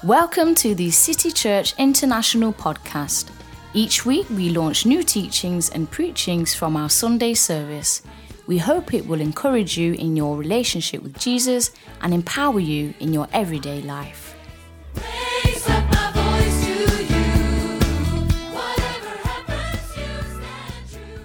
Welcome to the City Church International podcast. Each week we launch new teachings and preachings from our Sunday service. We hope it will encourage you in your relationship with Jesus and empower you in your everyday life. Raise up my voice to you. Whatever happens, you stand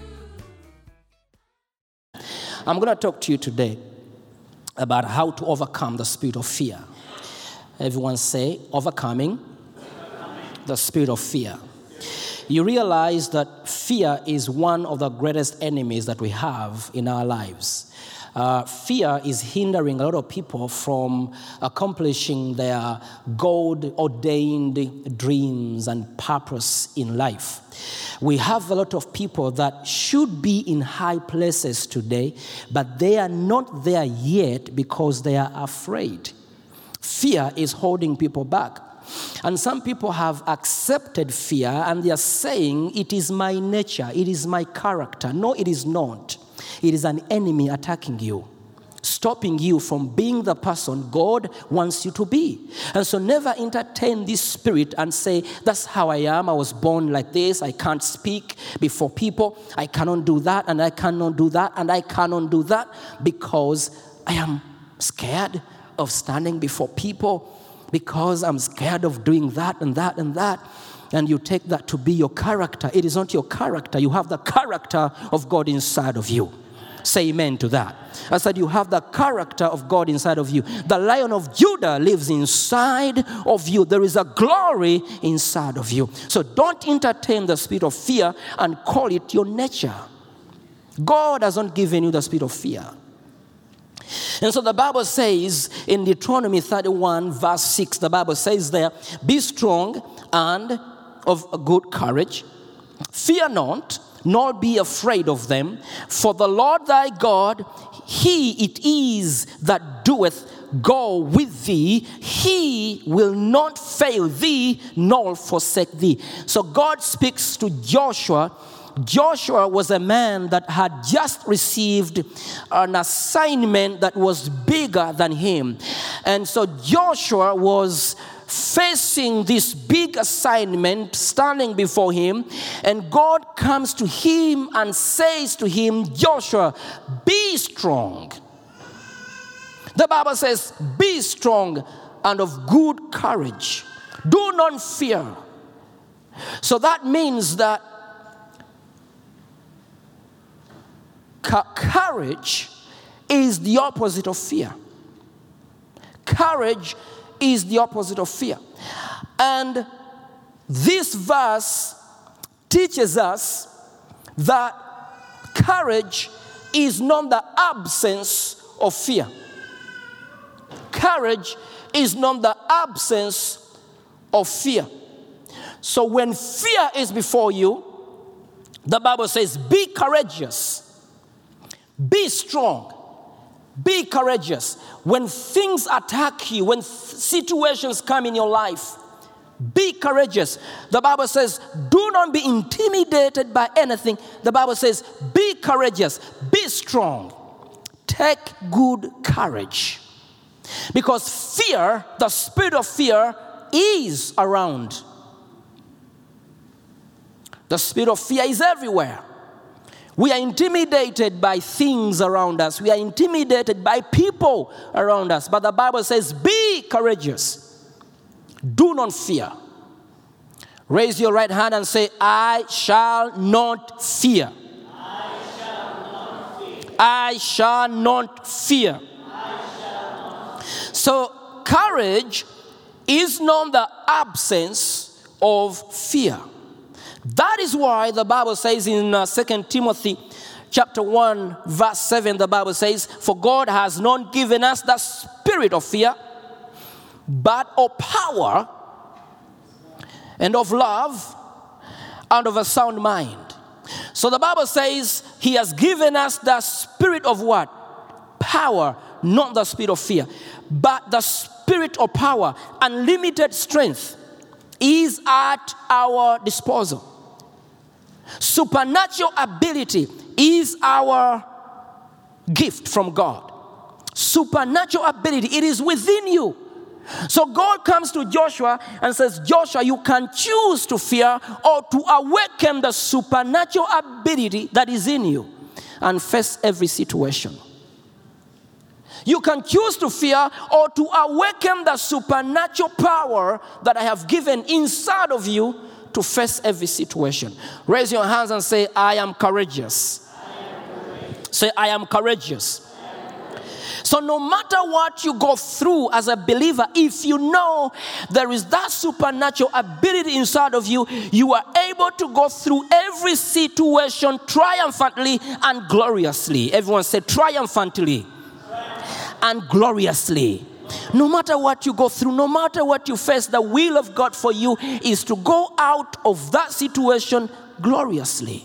true. I'm going to talk to you today about how to overcome the spirit of fear. Everyone say, overcoming the spirit of fear. You realize that fear is one of the greatest enemies that we have in our lives. Fear is hindering a lot of people from accomplishing their God-ordained dreams and purpose in life. We have a lot of people that should be in high places today, but they are not there yet because they are afraid. Fear is holding people back. And some people have accepted fear and they are saying, it is my nature, it is my character. No, it is not. It is an enemy attacking you, stopping you from being the person God wants you to be. And so never entertain this spirit and say, that's how I am. I was born like this. I can't speak before people. I cannot do that, and I cannot do that, and I cannot do that because I am scared of standing before people, because I'm scared of doing that and that and that. And you take that to be your character. It is not your character. You have the character of God inside of you. Say amen to that. I said you have the character of God inside of you. The Lion of Judah lives inside of you. There is a glory inside of you. So don't entertain the spirit of fear and call it your nature. God has not given you the spirit of fear. And so the Bible says in Deuteronomy 31 verse 6, the Bible says there, be strong and of good courage. Fear not, nor be afraid of them. For the Lord thy God, he it is that doeth go with thee. He will not fail thee, nor forsake thee. So God speaks to Joshua. Joshua was a man that had just received an assignment that was bigger than him. And so Joshua was facing this big assignment standing before him, and God comes to him and says to him, Joshua, be strong. The Bible says, be strong and of good courage. Do not fear. So that means that courage is the opposite of fear. Courage is the opposite of fear. And this verse teaches us that courage is not the absence of fear. Courage is not the absence of fear. So when fear is before you, the Bible says, be courageous. Be strong. Be courageous. When things attack you, when situations come in your life, be courageous. The Bible says, do not be intimidated by anything. The Bible says, be courageous. Be strong. Take good courage. Because fear, the spirit of fear, is around. The spirit of fear is everywhere. We are intimidated by things around us. We are intimidated by people around us. But the Bible says, be courageous. Do not fear. Raise your right hand and say, I shall not fear. I shall not fear. I shall not fear. I shall not fear. So courage is not the absence of fear. That is why the Bible says in 2 Timothy chapter 1 verse 7, the Bible says, for God has not given us the spirit of fear, but of power and of love and of a sound mind. So the Bible says he has given us the spirit of what? Power, not the spirit of fear, but the spirit of power. Unlimited strength is at our disposal. Supernatural ability is our gift from God. Supernatural ability, it is within you. So God comes to Joshua and says, Joshua, you can choose to fear or to awaken the supernatural ability that is in you and face every situation. You can choose to fear or to awaken the supernatural power that I have given inside of you to face every situation. Raise your hands and say, I am courageous. Say, I am courageous. So no matter what you go through as a believer, if you know there is that supernatural ability inside of you, you are able to go through every situation triumphantly and gloriously. Everyone say triumphantly and gloriously. No matter what you go through, no matter what you face, the will of God for you is to go out of that situation gloriously.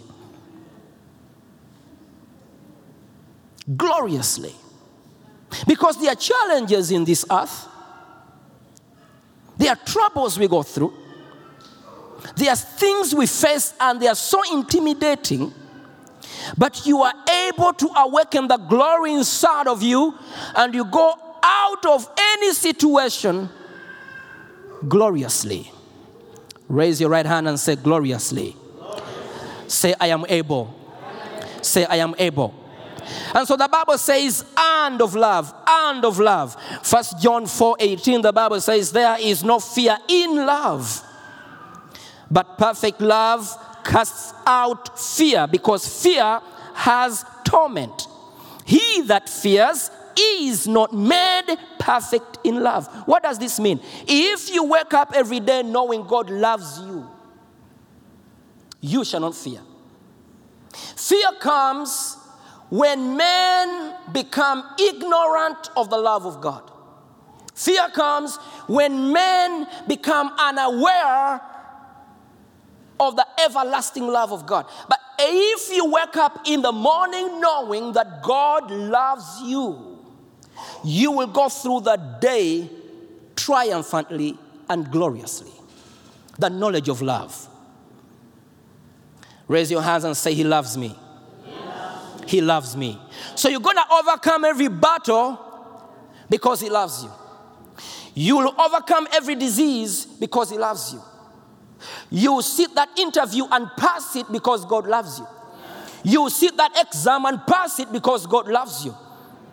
Gloriously. Because there are challenges in this earth. There are troubles we go through. There are things we face and they are so intimidating. But you are able to awaken the glory inside of you and you go out of any situation gloriously. Raise your right hand and say gloriously. Say, I am able. Say, I am able. And so the Bible says, and of love, and of love. 1 John 4:18, the Bible says, there is no fear in love. But perfect love casts out fear, because fear has torment. He that fears is not made perfect in love. What does this mean? If you wake up every day knowing God loves you, you shall not fear. Fear comes when men become ignorant of the love of God. Fear comes when men become unaware of the everlasting love of God. But if you wake up in the morning knowing that God loves you, you will go through the day triumphantly and gloriously. The knowledge of love. Raise your hands and say, He loves me. He loves me. So you're going to overcome every battle because He loves you. You will overcome every disease because He loves you. You will sit that interview and pass it because God loves you. You will sit that exam and pass it because God loves you.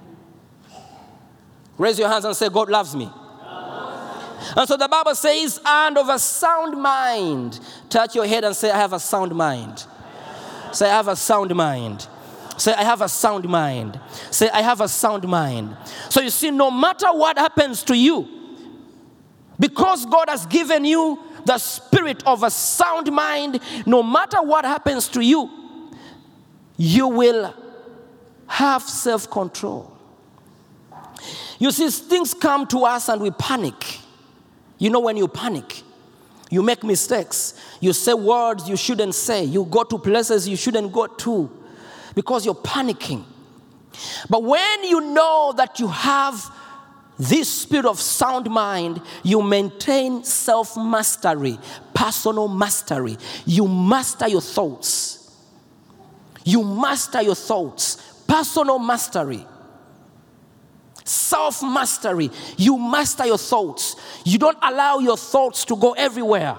Raise your hands and say, God loves me. And so the Bible says, and of a sound mind. Touch your head and say, I have a sound mind. Say, I have a sound mind. Say, I have a sound mind. Say, I have a sound mind. So you see, no matter what happens to you, because God has given you the spirit of a sound mind, no matter what happens to you, you will have self-control. You see, things come to us and we panic. You know, when you panic, you make mistakes. You say words you shouldn't say. You go to places you shouldn't go to because you're panicking. But when you know that you have this spirit of sound mind, you maintain self-mastery, personal mastery. You master your thoughts. You master your thoughts. Personal mastery. Self-mastery. You master your thoughts. You don't allow your thoughts to go everywhere.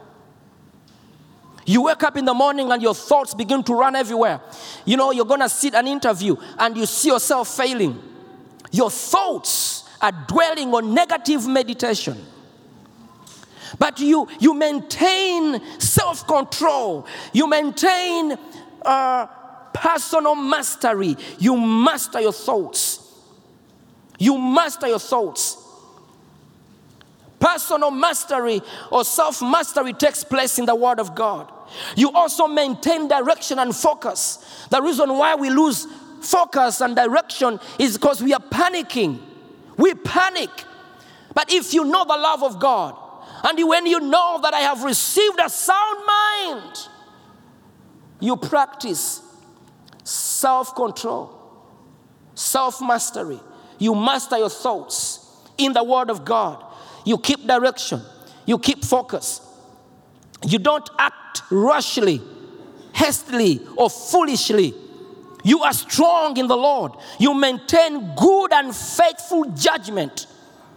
You wake up in the morning and your thoughts begin to run everywhere. You know, you're going to sit an interview and you see yourself failing. Your thoughts are dwelling on negative meditation. But you maintain self-control. You maintain personal mastery. You master your thoughts. You master your thoughts. Personal mastery or self-mastery takes place in the Word of God. You also maintain direction and focus. The reason why we lose focus and direction is because we are panicking. We panic. But if you know the love of God, and when you know that I have received a sound mind, you practice self-control, self-mastery. You master your thoughts in the Word of God. You keep direction. You keep focus. You don't act rashly, hastily, or foolishly. You are strong in the Lord. You maintain good and faithful judgment.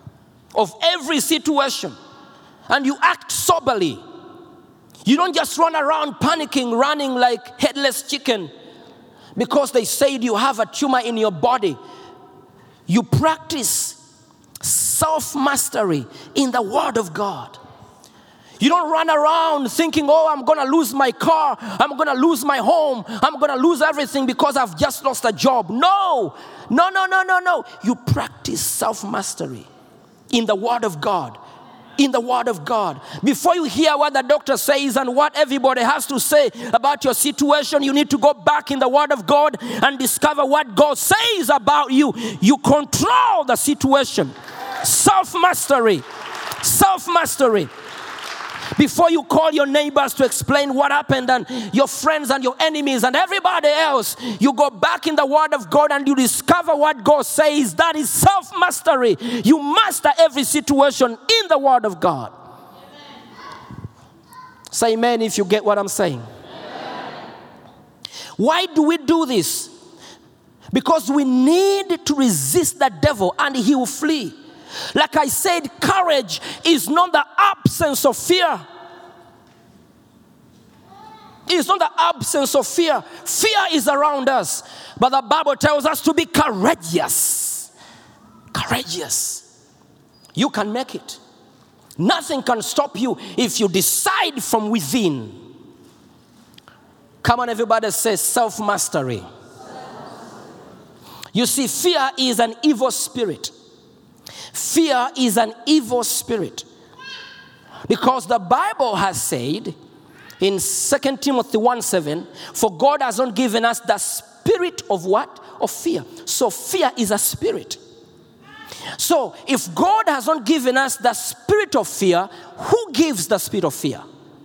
of every situation, and you act soberly. You don't just run around panicking, running like headless chicken because they said you have a tumor in your body. You practice self-mastery in the Word of God. You don't run around thinking, oh, I'm going to lose my car, I'm going to lose my home, I'm going to lose everything because I've just lost a job. No. You practice self-mastery in the Word of God. In the Word of God. Before you hear what the doctor says and what everybody has to say about your situation, you need to go back in the Word of God and discover what God says about you. You control the situation. Self-mastery. Self-mastery. Before you call your neighbors to explain what happened, and your friends and your enemies and everybody else, you go back in the Word of God and you discover what God says. That is self-mastery. You master every situation in the Word of God. Amen. Say amen if you get what I'm saying. Amen. Why do we do this? Because we need to resist the devil and he will flee. Like I said, courage is not the absence of fear. It's not the absence of fear. Fear is around us. But the Bible tells us to be courageous. Courageous. You can make it. Nothing can stop you if you decide from within. Come on, everybody say self-mastery. You see, fear is an evil spirit. Fear is an evil spirit. Because the Bible has said in 2 Timothy 1:7, for God has not given us the spirit of what? Of fear. So fear is a spirit. So if God has not given us the spirit of fear, who gives the spirit of fear?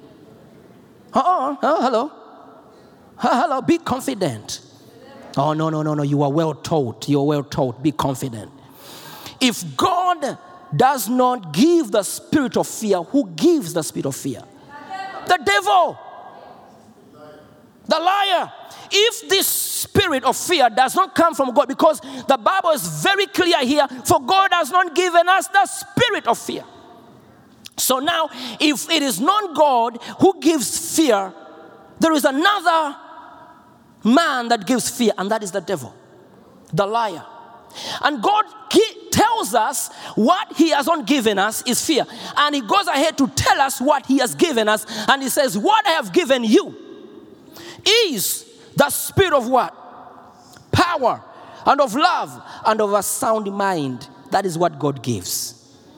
Hello. Hello, be confident. Oh, no. You are well taught. You are well taught. Be confident. If God does not give the spirit of fear, who gives the spirit of fear? The devil. The liar. If this spirit of fear does not come from God, because the Bible is very clear here, for God has not given us the spirit of fear. So now, if it is not God who gives fear, there is another man that gives fear, and that is the devil, the liar. And God tells us what he has not given us is fear. And he goes ahead to tell us what he has given us. And he says, what I have given you is the spirit of what? Power, and of love, and of a sound mind. That is what God gives.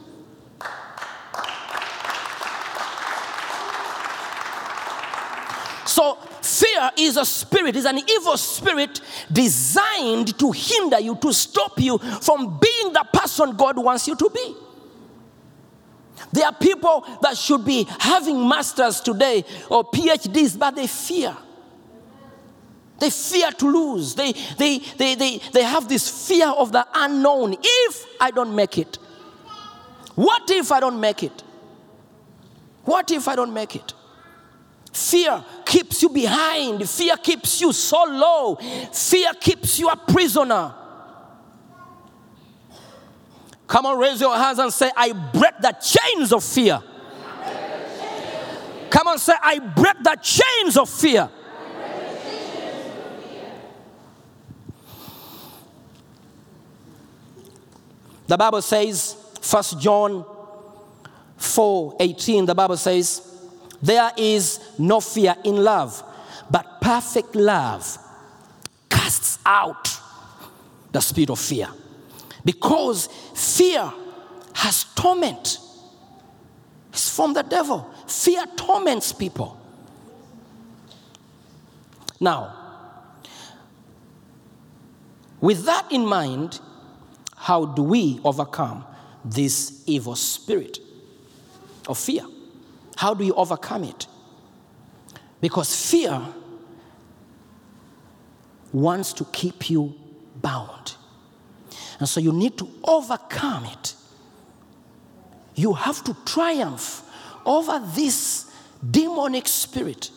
So fear is a spirit, is an evil spirit designed to hinder you, to stop you from being the person God wants you to be. There are people that should be having masters today or PhDs, but they fear. They fear to lose. They have this fear of the unknown. If I don't make it? What if I don't make it? What if I don't make it? Fear keeps you behind. Fear keeps you so low. Fear keeps you a prisoner. Come on, raise your hands and say, I break the chains of fear. Come on, say, I break the chains of fear. The Bible says, 1 John 4:18, the Bible says, there is no fear in love, but perfect love casts out the spirit of fear. Because fear has torment. It's from the devil. Fear torments people. Now, with that in mind, how do we overcome this evil spirit of fear? How do you overcome it? Because fear wants to keep you bound. And so you need to overcome it. You have to triumph over this demonic spirit.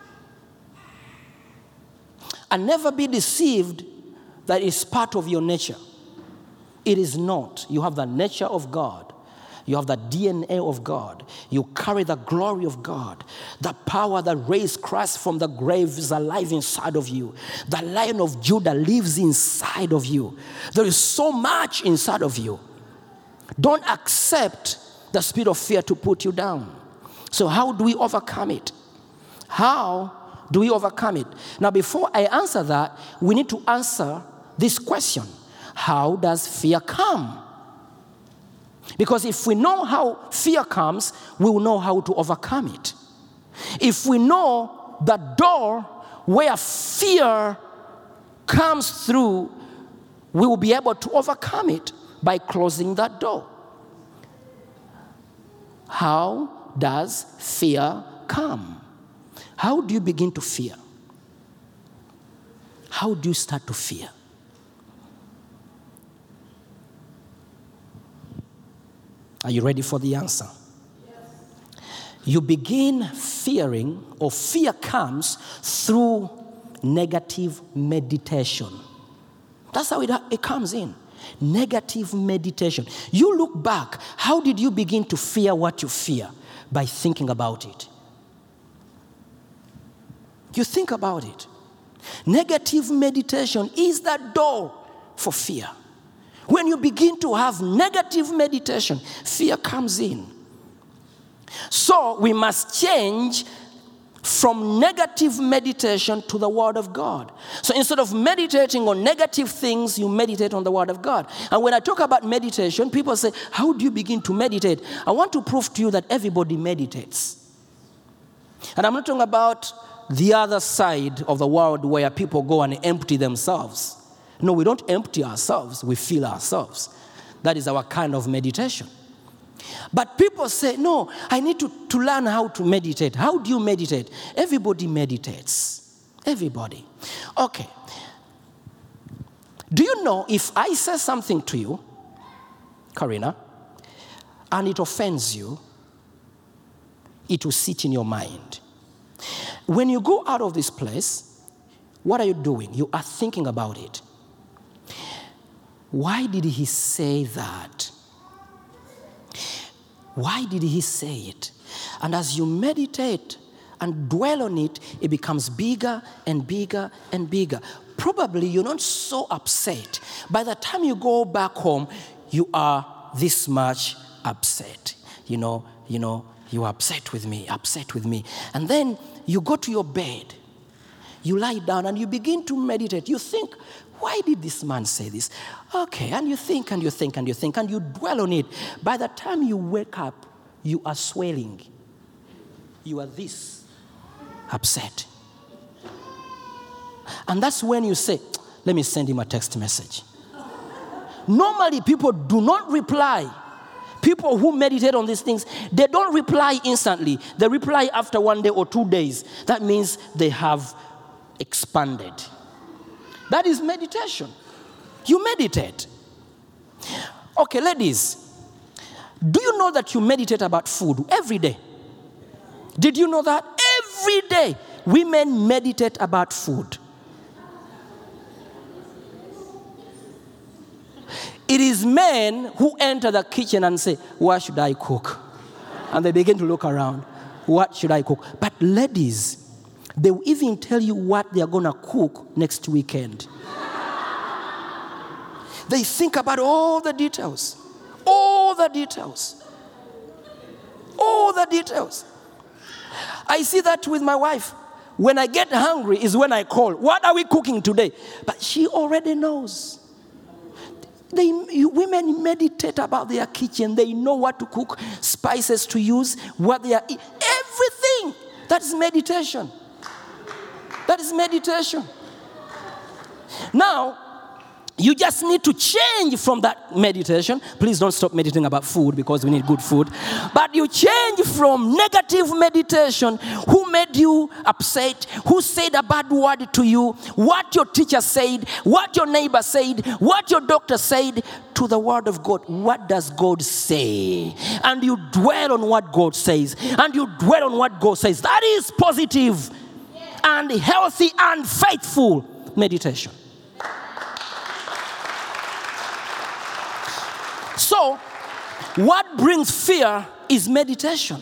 And never be deceived that it's part of your nature. It is not. You have the nature of God. You have the DNA of God. You carry the glory of God. The power that raised Christ from the grave is alive inside of you. The Lion of Judah lives inside of you. There is so much inside of you. Don't accept the spirit of fear to put you down. So how do we overcome it? How do we overcome it? Now, before I answer that, we need to answer this question. How does fear come? Because if we know how fear comes, we will know how to overcome it. If we know the door where fear comes through, we will be able to overcome it by closing that door. How does fear come? How do you begin to fear? How do you start to fear? Are you ready for the answer? Yes. You begin fearing, or fear comes through negative meditation. That's how it comes in. Negative meditation. You look back, how did you begin to fear what you fear? By thinking about it. You think about it. Negative meditation is the door for fear. When you begin to have negative meditation, fear comes in. So we must change from negative meditation to the Word of God. So instead of meditating on negative things, you meditate on the Word of God. And when I talk about meditation, people say, how do you begin to meditate? I want to prove to you that everybody meditates. And I'm not talking about the other side of the world where people go and empty themselves. No, we don't empty ourselves, we fill ourselves. That is our kind of meditation. But people say, no, I need to learn how to meditate. How do you meditate? Everybody meditates. Everybody. Okay. Do you know if I say something to you, Karina, and it offends you, it will sit in your mind. When you go out of this place, what are you doing? You are thinking about it. Why did he say that? Why did he say it? And as you meditate and dwell on it, it becomes bigger and bigger and bigger. Probably you're not so upset. By the time you go back home, you are this much upset. You are upset with me. And then you go to your bed. You lie down and you begin to meditate. You think, why did this man say this? Okay, and you think and you think and you think and you dwell on it. By the time you wake up, you are swelling. You are this upset. And that's when you say, let me send him a text message. Normally, people do not reply. People who meditate on these things, they don't reply instantly. They reply after 1 day or 2 days. That means they have expanded. That is meditation. You meditate. Okay, ladies, do you know that you meditate about food every day? Did you know that? Every day, women meditate about food. It is men who enter the kitchen and say, what should I cook? And they begin to look around. What should I cook? But ladies, they will even tell you what they are going to cook next weekend. They think about all the details. All the details. All the details. I see that with my wife. When I get hungry is when I call. What are we cooking today? But she already knows. Women meditate about their kitchen. They know what to cook, spices to use, what they are eating. Everything. That is meditation. That is meditation. Now, you just need to change from that meditation. Please don't stop meditating about food because we need good food. But you change from negative meditation. Who made you upset? Who said a bad word to you? What your teacher said? What your neighbor said? What your doctor said? To the word of God. What does God say? And you dwell on what God says. And you dwell on what God says. That is positive and healthy and faithful meditation. So, What brings fear is meditation.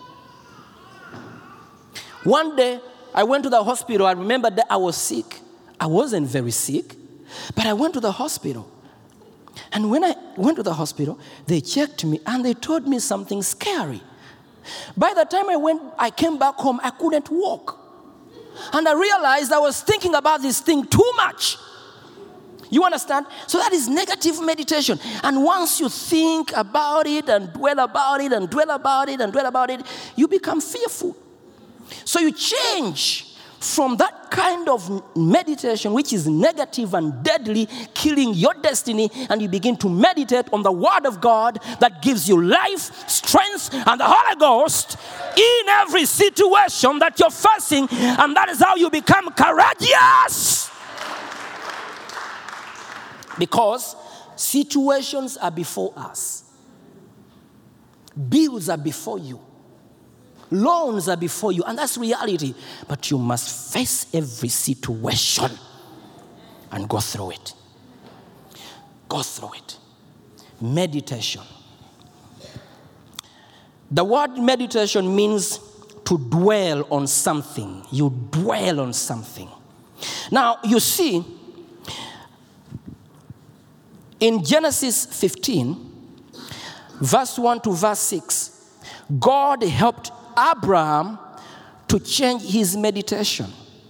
One day, I went to the hospital. I remember that I was sick. I wasn't very sick, but I went to the hospital. And when I went to the hospital, they checked me and they told me something scary. By the time I came back home, I couldn't walk. And I realized I was thinking about this thing too much. You understand? So that is negative meditation. And once you think about it and dwell about it and dwell about it and dwell about it, you become fearful. So you change from that kind of meditation, which is negative and deadly, killing your destiny, and you begin to meditate on the Word of God that gives you life, strength, and the Holy Ghost in every situation that you're facing, and that is how you become courageous. Because situations are before us. Bills are before you. Loans are before you, and that's reality. But you must face every situation and go through it. Go through it. Meditation. The word meditation means to dwell on something. You dwell on something. Now, you see, in Genesis 15, verse 1 to verse 6, God helped Abraham to change his meditation.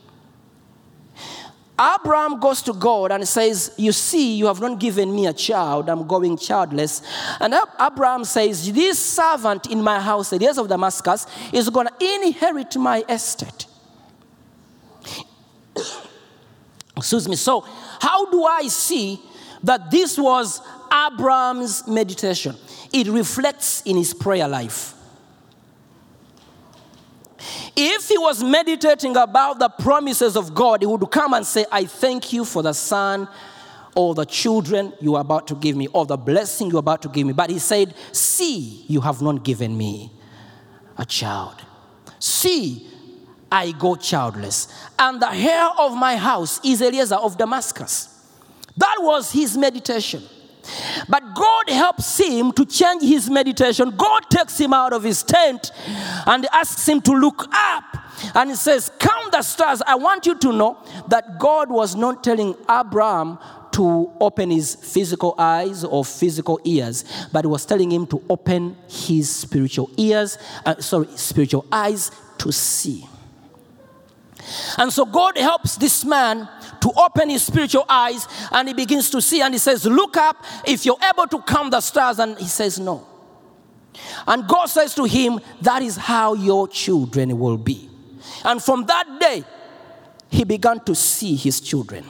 Abraham goes to God and says, you see, you have not given me a child. I'm going childless. And Abraham says, this servant in my house, the years of Damascus, is going to inherit my estate. Excuse me. So how do I see that this was Abraham's meditation? It reflects in his prayer life. If he was meditating about the promises of God, he would come and say, I thank you for the son or the children you are about to give me, or the blessing you are about to give me. But he said, see, you have not given me a child. See, I go childless. And the heir of my house is Eliezer of Damascus. That was his meditation. But God helps him to change his meditation. God takes him out of his tent and asks him to look up. And he says, count the stars. I want you to know that God was not telling Abraham to open his physical eyes or physical ears, but he was telling him to open his spiritual eyes to see. And so God helps this man to open his spiritual eyes, and he begins to see, and he says, look up if you're able to count the stars. And he says, no. And God says to him, that is how your children will be. And from that day, he began to see his children.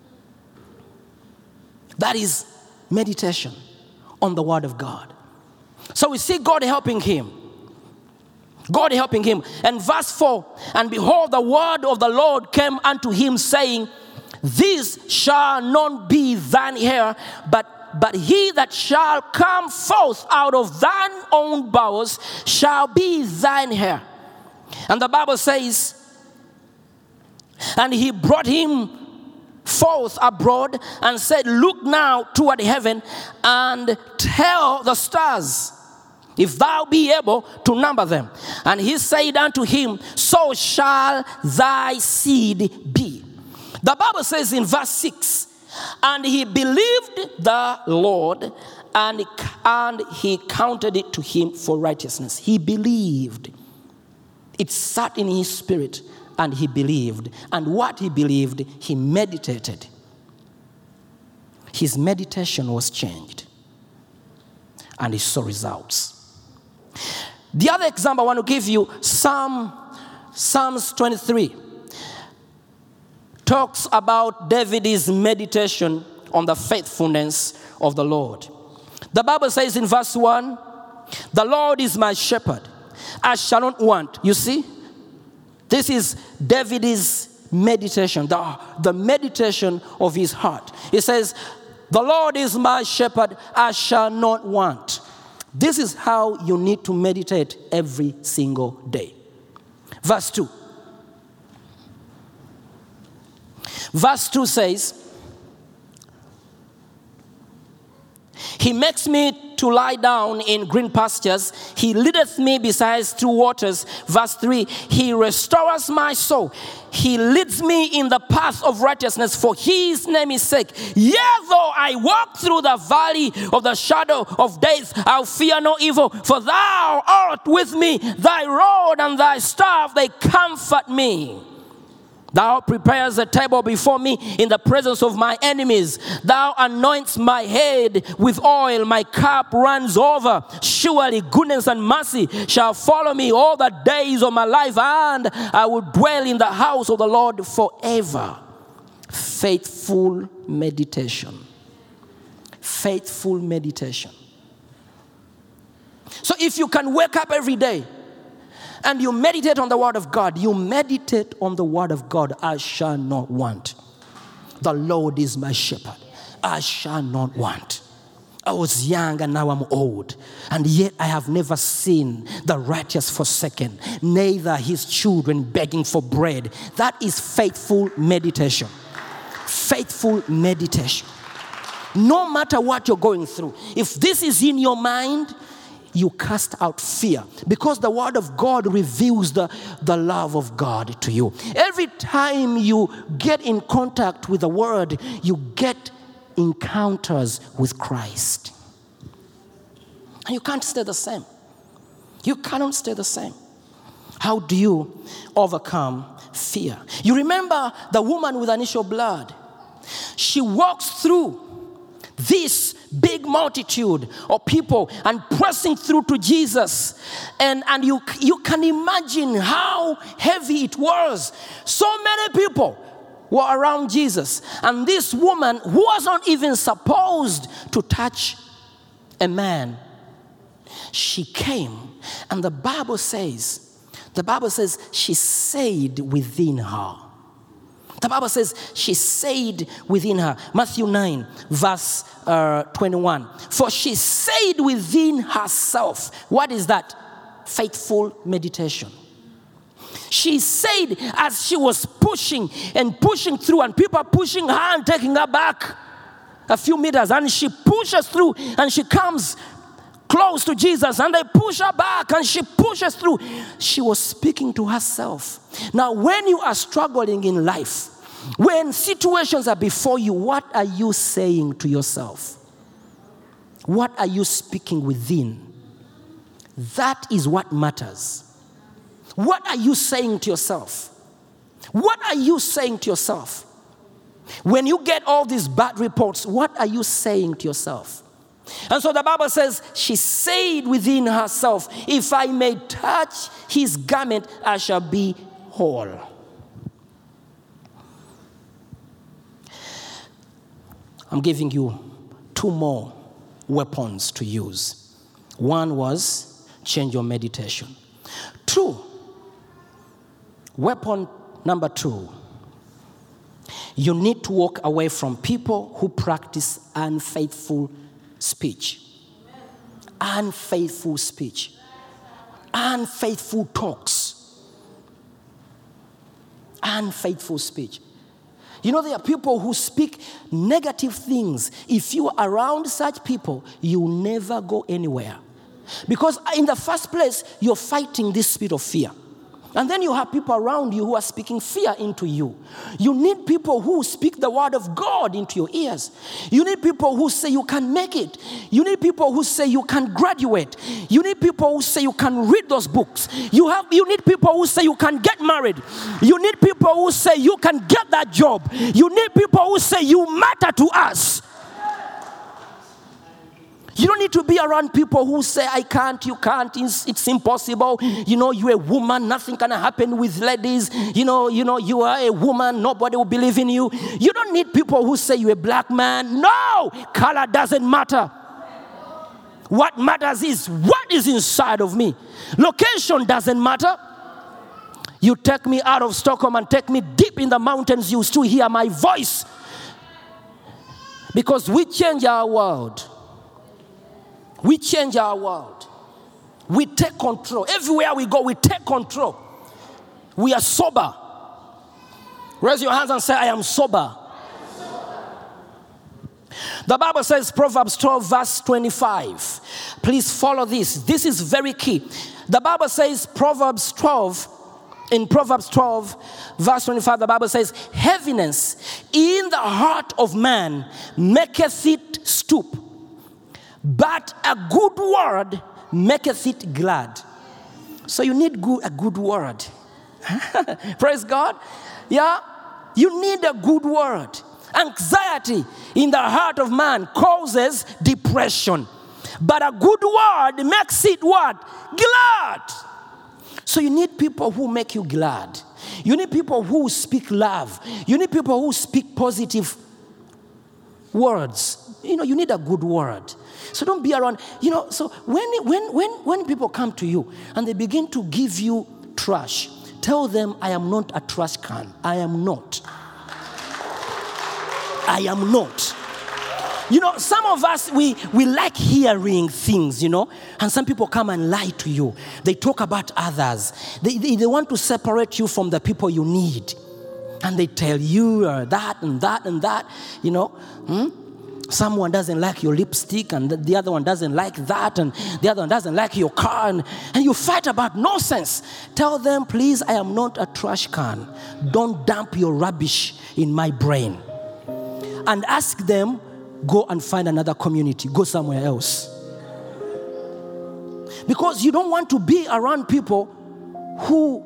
That is meditation on the Word of God. So we see God helping him. God helping him. And verse 4, and behold, the word of the Lord came unto him, saying, this shall not be thine heir, but he that shall come forth out of thine own bowels shall be thine heir. And the Bible says, and he brought him forth abroad and said, look now toward heaven and tell the stars, if thou be able to number them. And he said unto him, so shall thy seed be. The Bible says in verse 6, and he believed the Lord, and he counted it to him for righteousness. He believed. It sat in his spirit, and he believed. And what he believed, he meditated. His meditation was changed, and he saw results. The other example I want to give you, Psalms 23, talks about David's meditation on the faithfulness of the Lord. The Bible says in verse 1, the Lord is my shepherd, I shall not want. You see, this is David's meditation, the meditation of his heart. He says, the Lord is my shepherd, I shall not want. This is how you need to meditate every single day. Verse 2. Verse 2 says, he makes me to lie down in green pastures. He leadeth me beside still waters. Verse 3, he restores my soul. He leads me in the path of righteousness for his name's sake. Yea, though I walk through the valley of the shadow of death, I'll fear no evil, for thou art with me. Thy rod and thy staff, they comfort me. Thou preparest a table before me in the presence of my enemies. Thou anointest my head with oil. My cup runs over. Surely goodness and mercy shall follow me all the days of my life, and I will dwell in the house of the Lord forever. Faithful meditation. Faithful meditation. So if you can wake up every day and you meditate on the word of God, you meditate on the word of God, I shall not want. The Lord is my shepherd. I shall not want. I was young and now I'm old, and yet I have never seen the righteous forsaken, neither his children begging for bread. That is faithful meditation. Faithful meditation. No matter what you're going through, if this is in your mind, you cast out fear, because the word of God reveals the love of God to you. Every time you get in contact with the word, you get encounters with Christ. And you can't stay the same. You cannot stay the same. How do you overcome fear? You remember the woman with an issue of blood. She walks through this big multitude of people and pressing through to Jesus. And you can imagine how heavy it was. So many people were around Jesus. And this woman, who was not even supposed to touch a man, she came. And the Bible says she said within her. The Bible says she said within her. Matthew 9, verse 21. For she said within herself. What is that? Faithful meditation. She said as she was pushing and pushing through, and people are pushing her and taking her back a few meters, and she pushes through and she comes close to Jesus, and they push her back and she pushes through. She was speaking to herself. Now, when you are struggling in life, when situations are before you, what are you saying to yourself? What are you speaking within? That is what matters. What are you saying to yourself? What are you saying to yourself? When you get all these bad reports, what are you saying to yourself? And so the Bible says, she said within herself, if I may touch his garment, I shall be whole. I'm giving you 2 more weapons to use. One was change your meditation. 2, weapon number 2, you need to walk away from people who practice unfaithful speech. Unfaithful speech. Unfaithful talks. Unfaithful speech. You know, there are people who speak negative things. If you are around such people, you never go anywhere. Because in the first place, you're fighting this spirit of fear. And then you have people around you who are speaking fear into you. You need people who speak the word of God into your ears. You need people who say you can make it. You need people who say you can graduate. You need people who say you can read those books. You need people who say you can get married. You need people who say you can get that job. You need people who say you matter to us. You don't need to be around people who say, I can't, you can't, it's impossible. You know, you're a woman, nothing can happen with ladies. You know, you are a woman, nobody will believe in you. You don't need people who say you're a black man. No, color doesn't matter. What matters is what is inside of me. Location doesn't matter. You take me out of Stockholm and take me deep in the mountains, you still hear my voice. Because we change our world. We change our world. We take control. Everywhere we go, we take control. We are sober. Raise your hands and say, I am sober. The Bible says, Proverbs 12, verse 25. Please follow this. This is very key. The Bible says, in Proverbs 12, verse 25, the Bible says, heaviness in the heart of man maketh it stoop, but a good word maketh it glad. So you need a good word. Praise God. Yeah, you need a good word. Anxiety in the heart of man causes depression, but a good word makes it what? Glad. So you need people who make you glad. You need people who speak love. You need people who speak positive words. You need a good word. So don't be around, so when people come to you and they begin to give you trash, tell them, I am not a trash can. I am not. Some of us, we like hearing things, and some people come and lie to you. They talk about others. They want to separate you from the people you need. And they tell you that and that and that, Someone doesn't like your lipstick, and the other one doesn't like that, and the other one doesn't like your car, and you fight about nonsense. Tell them, please, I am not a trash can. Don't dump your rubbish in my brain. And ask them, go and find another community. Go somewhere else. Because you don't want to be around people who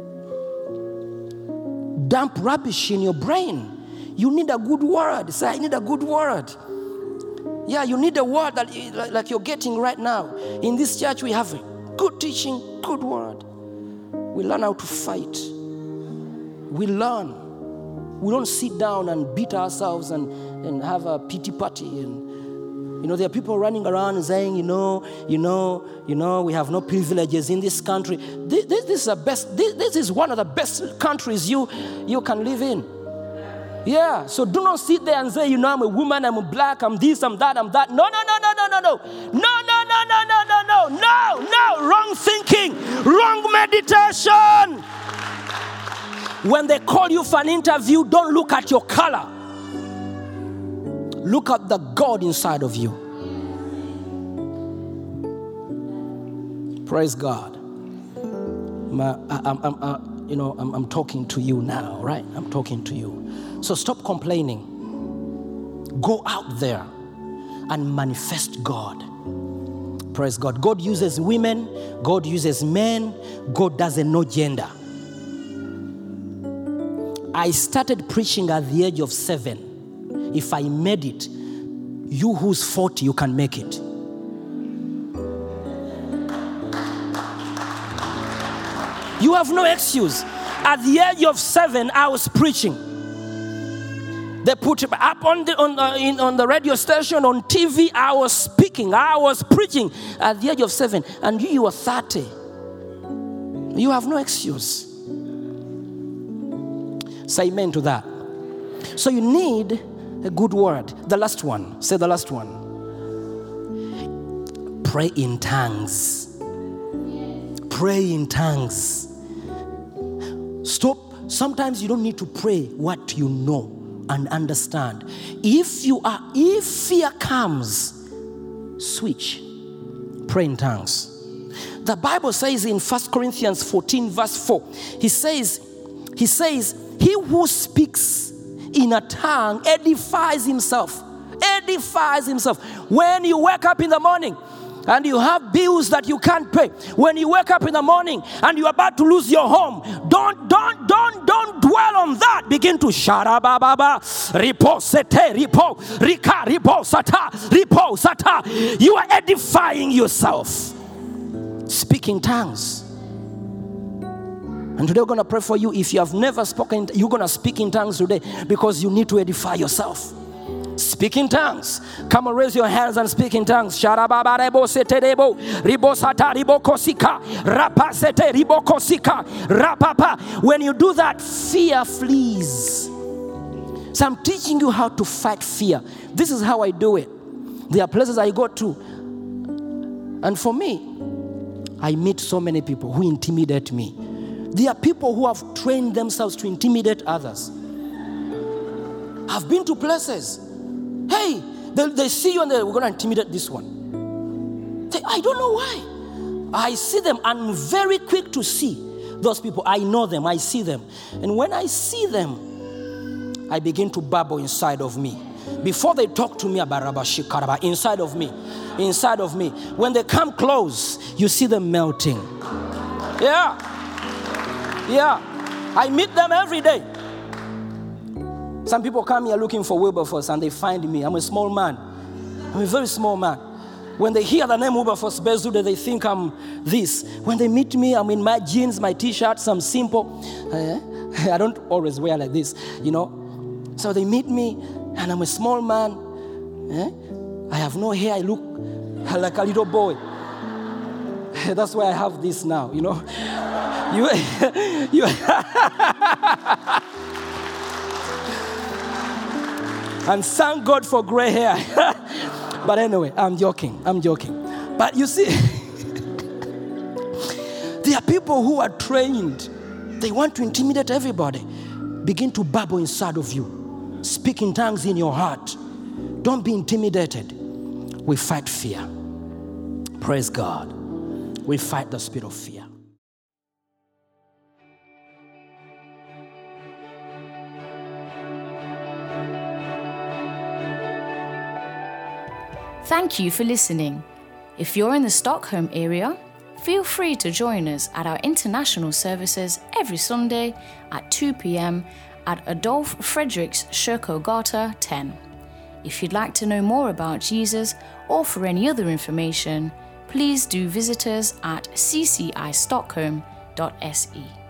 dump rubbish in your brain. You need a good word. Say, I need a good word. Yeah, you need a word that like you're getting right now. In this church, we have good teaching, good word. We learn how to fight. We learn. We don't sit down and beat ourselves and have a pity party. And there are people running around and saying, we have no privileges in this country. This is one of the best countries you can live in. Yeah, so do not sit there and say, I'm a woman, I'm a black, I'm this, I'm that, I'm that. No. No. Wrong thinking, wrong meditation. When they call you for an interview, don't look at your color. Look at the God inside of you. Praise God. I'm talking to you now, right? I'm talking to you. So stop complaining. Go out there and manifest God. Praise God. God uses women. God uses men. God doesn't know gender. I started preaching at the age of 7. If I made it, you who's 40, you can make it. You have no excuse. At the age of 7, I was preaching. They put it up on the radio station, on TV. I was speaking. I was preaching at the age of 7. And you were 30. You have no excuse. Say amen to that. So you need a good word. The last one. Say the last one. Pray in tongues. Pray in tongues. Stop. Sometimes you don't need to pray what you know and understand. If fear comes, switch. Pray in tongues. The Bible says in 1 Corinthians 14 verse 4, he says, he who speaks in a tongue edifies himself. Edifies himself. When you wake up in the morning and you have bills that you can't pay, when you wake up in the morning and you're about to lose your home, don't dwell on that. Begin to sharababa, ripo sete, ripo, rika, ripo sata, ripo sata. You are edifying yourself. Speaking tongues. And today we're going to pray for you. If you have never spoken, you're going to speak in tongues today because you need to edify yourself. Speak in tongues. Come on, raise your hands and speak in tongues. Sharababarebo seterebo, ribosata ribokosika, rapasete ribokosika, rapapa. When you do that, fear flees. So I'm teaching you how to fight fear. This is how I do it. There are places I go to, and for me, I meet so many people who intimidate me. There are people who have trained themselves to intimidate others. I've been to places. Hey, They see you and we're going to intimidate this one. I don't know why. I see them. I'm very quick to see those people. I know them. I see them. And when I see them, I begin to babble inside of me. Before they talk to me about Rabashikaraba, inside of me. When they come close, you see them melting. Yeah. I meet them every day. Some people come here looking for Wilberforce and they find me. I'm a small man. I'm a very small man. When they hear the name Wilberforce Bezude, they think I'm this. When they meet me, I'm in my jeans, my t-shirts, I'm simple. I don't always wear like this, So they meet me and I'm a small man. I have no hair. I look like a little boy. That's why I have this now, You and thank God for gray hair. But anyway, I'm joking. But you see, there are people who are trained. They want to intimidate everybody. Begin to babble inside of you. Speak in tongues in your heart. Don't be intimidated. We fight fear. Praise God. We fight the spirit of fear. Thank you for listening. If you're in the Stockholm area, feel free to join us at our international services every Sunday at 2 p.m. at Adolf Fredriks Kyrkogata 10. If you'd like to know more about Jesus or for any other information, please do visit us at ccistockholm.se.